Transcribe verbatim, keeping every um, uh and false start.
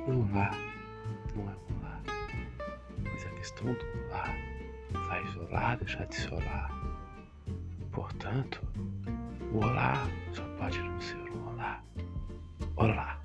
Um olá não é um olá, mas a questão do olá faz olá deixar de ser olá. Portanto, o olá só pode não ser um olá. Olá.